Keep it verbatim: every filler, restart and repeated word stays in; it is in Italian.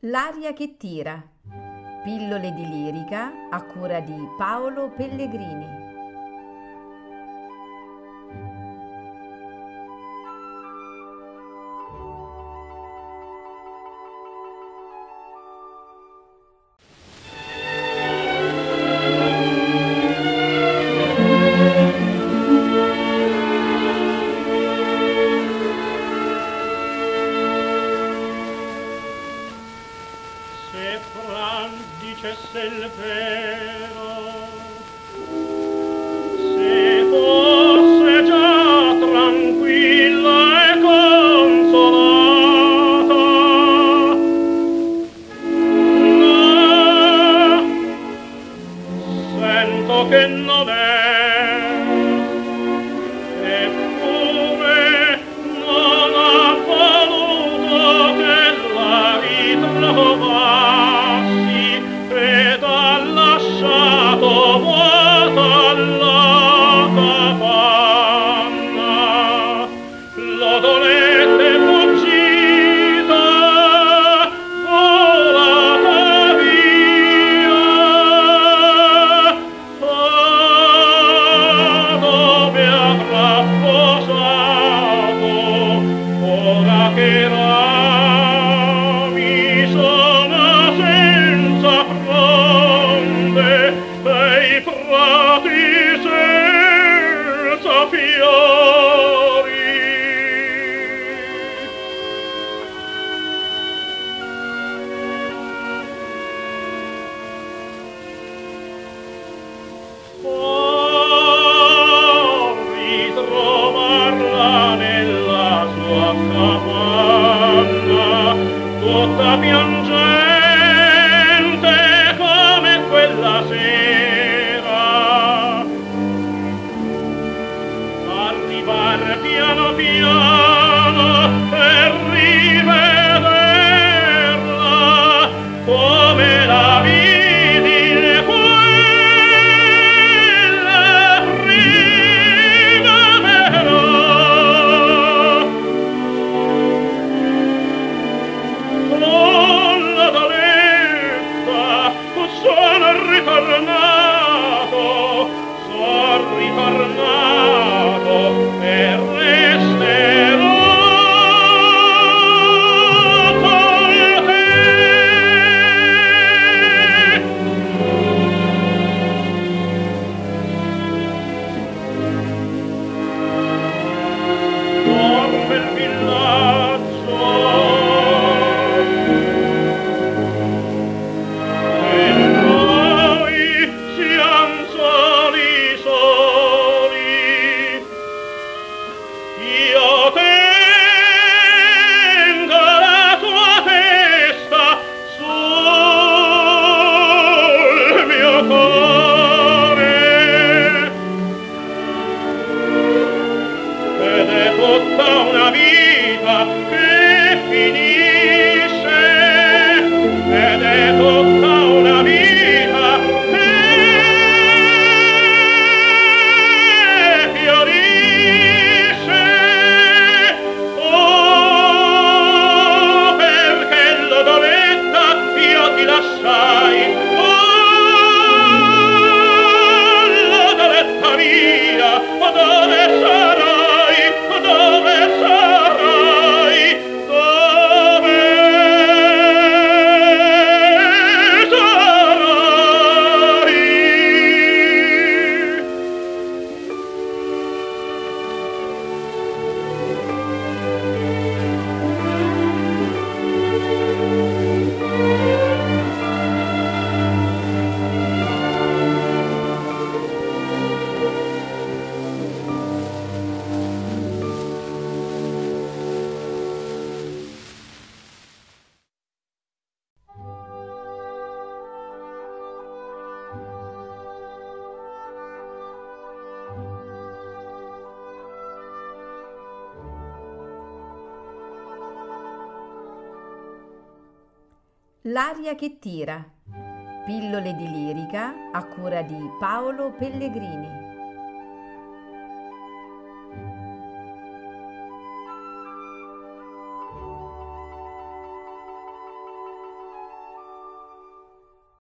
L'aria che tira. Pillole di lirica a cura di Paolo Pellegrini. Se Fran dicesse il vero, se fosse già tranquilla e consolata, no, sento che non è, eppure non ha voluto che la ritrovassi ed ha lasciato vuota la capanna. L'odorette fuggita, volata via, ah, dove avrà posato ora che rami sono senza fronde e i prati senza fiori. Oh, ritrovarla nella sua capanna, tutta piangente come quella sera, arrivar piano piano e rivederla come la vidi in quella primavera. Con la daletta sono ritornato, sono ritornato e resterò con te. Come il villaggio e noi siam soli soli, io tengo la tua testa sul mio cuore ed è tutta una vita che finisce, ed è tutta una vita che fiorisce. Oh, perché l'odoretta io ti lasciai, oh, l'odoretta mia, oh, dove sarai, oh, dove sarai, dove sarai? L'aria che tira. Pillole di lirica a cura di Paolo Pellegrini.